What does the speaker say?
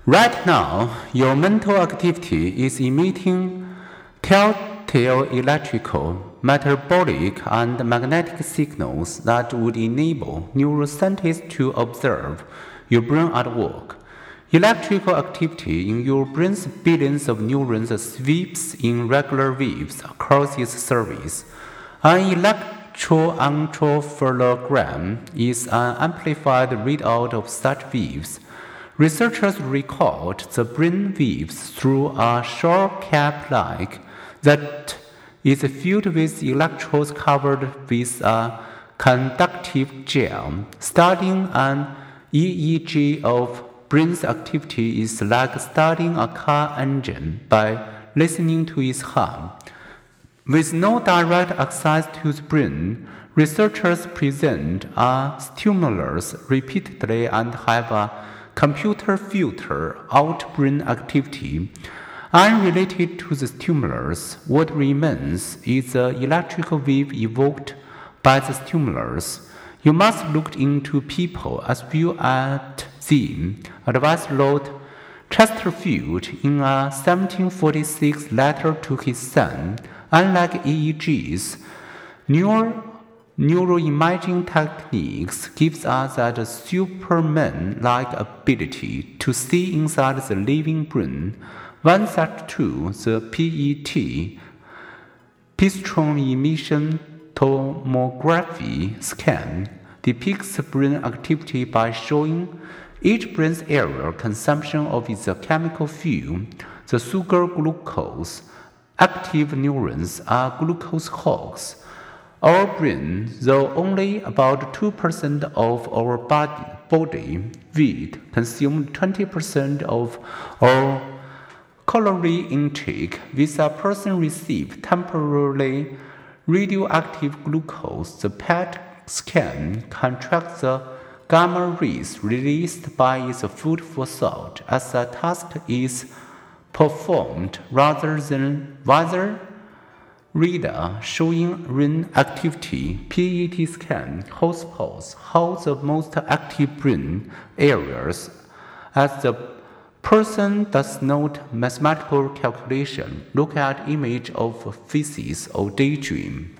Right now, your mental activity is emitting telltale electrical, metabolic, and magnetic signals that would enable neuroscientists to observe your brain at work. Electrical activity in your brain's billions of neurons sweeps in regular waves across its surface. An electroencephalogram is an amplified readout of such waves. Researchers record the brain waves through a shell cap that is filled with electrodes covered with a conductive gel. Studying an EEG of brain's activity is like studying a car engine by listening to its hum. With no direct access to the brain, researchers present a stimulus repeatedly and have a computer filter out brain activity. Unrelated to the stimulus, what remains is the electrical wave evoked by the stimulus. You must look into people as well as them, advised Lord Chesterfield in a 1746 letter to his son. Unlike EEGs, neuroimaging techniques gives us that Superman-like ability to see inside the living brain. One such tool, the PET, positron emission tomography scan, depicts brain activity by showing each brain's area consumption of its chemical fuel, the sugar glucose. Active neurons are glucose hogs. Our brain, though only about 2% of our body weight, consumes 20% of our calorie intake. With a person receive temporarily radioactive glucose, the PET scan can track the gamma rays released by its food for thought as the task is performed rather than radar showing brain activity. PET scan hotspots how the most active brain areas as the person does not mathematical calculation, look at image of faces or daydream.